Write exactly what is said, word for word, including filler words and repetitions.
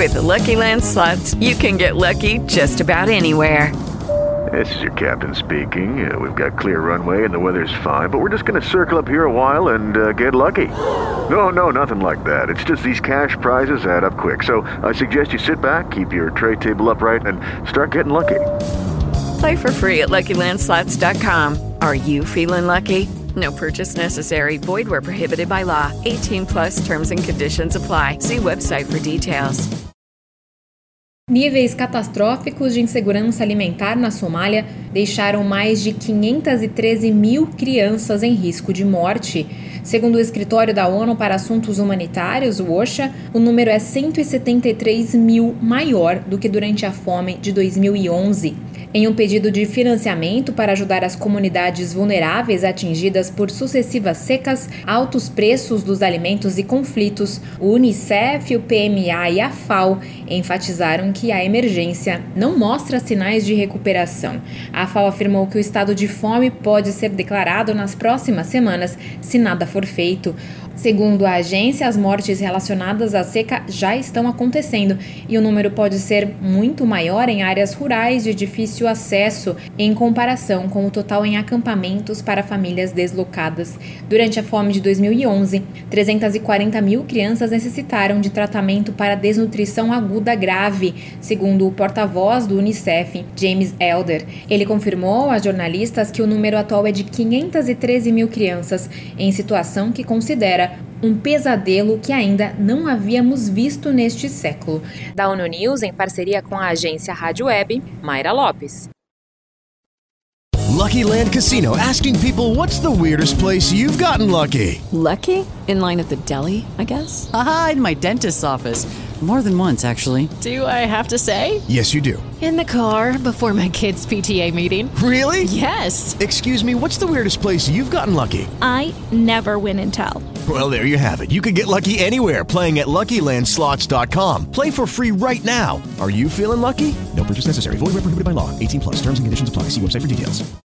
With the Lucky Land Slots, you can get lucky just about anywhere. This is your captain speaking. Uh, we've got clear runway and the weather's fine, but we're just going to circle up here a while and uh, get lucky. No, no, nothing like that. It's just these cash prizes add up quick. So I suggest you sit back, keep your tray table upright, and start getting lucky. Play for free at Lucky Land Slots dot com. Are you feeling lucky? No purchase necessary. Void where prohibited by law. eighteen plus terms and conditions apply. See website for details. Níveis catastróficos de insegurança alimentar na Somália deixaram mais de quinhentas e treze mil crianças em risco de morte. Segundo o Escritório da ONU para Assuntos Humanitários, o OCHA, o número é cento e setenta e três mil maior do que durante a fome de dois mil e onze. Em um pedido de financiamento para ajudar as comunidades vulneráveis atingidas por sucessivas secas, altos preços dos alimentos e conflitos, o Unicef, o P M A e a F A O enfatizaram que a emergência não mostra sinais de recuperação. A F A O afirmou que o estado de fome pode ser declarado nas próximas semanas se nada for feito. Segundo a agência, as mortes relacionadas à seca já estão acontecendo e o número pode ser muito maior em áreas rurais de difícil acesso em comparação com o total em acampamentos para famílias deslocadas. Durante a fome de dois mil e onze, trezentas e quarenta mil crianças necessitaram de tratamento para desnutrição aguda grave, segundo o porta-voz do Unicef, James Elder. Ele confirmou a jornalistas que o número atual é de quinhentas e treze mil crianças em situação que considera um pesadelo que ainda não havíamos visto neste século. Da ONU News, em parceria com a agência Rádio Web, Mayra Lopes. Lucky Land Casino, asking people, what's the weirdest place you've gotten lucky? Lucky? In line at the deli, I guess? Aha, in my dentist's office. More than once, actually. Do I have to say? Yes, you do. In the car before my kids' P T A meeting. Really? Yes. Excuse me, what's the weirdest place you've gotten lucky? I never win and tell. Well, there you have it. You can get lucky anywhere, playing at Lucky Land Slots dot com. Play for free right now. Are you feeling lucky? No purchase necessary. Void where prohibited by law. eighteen plus. Terms and conditions apply. See website for details.